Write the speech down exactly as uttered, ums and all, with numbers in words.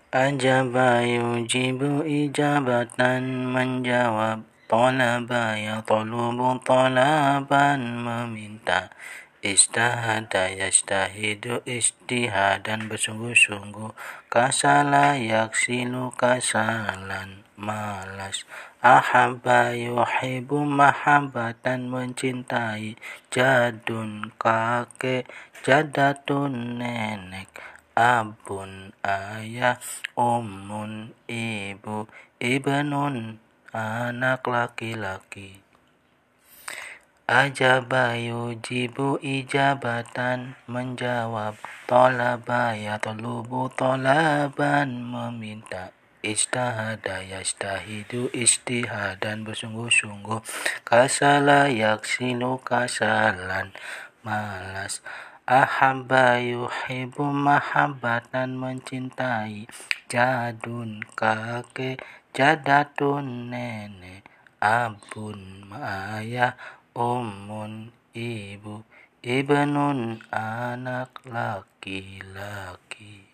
Ajaba yujibu ijabatan, menjawab. Talaba yatlubu talaban, meminta. Istahada yastahidu istihadan, bersungguh-sungguh. Kasala yaksilu kasalan, malas. Ahabba yuhibu mahabbatan, mencintai. Jadun kakek, jadatun nenek. Abun ayah, ummun ibu, ibnun anak laki-laki. Ajaba yujibu ijabatan, menjawab. Talaba yatlubu talaban, meminta. Istahada yastahidu istihadan, bersungguh-sungguh. Kasala yaksilu kasalan, malas. Ahabba yuhibu mahabbatan, mencintai. Jadun kakek, jadatun nenek. Abun ayah, ummun ibu, ibnun anak laki-laki.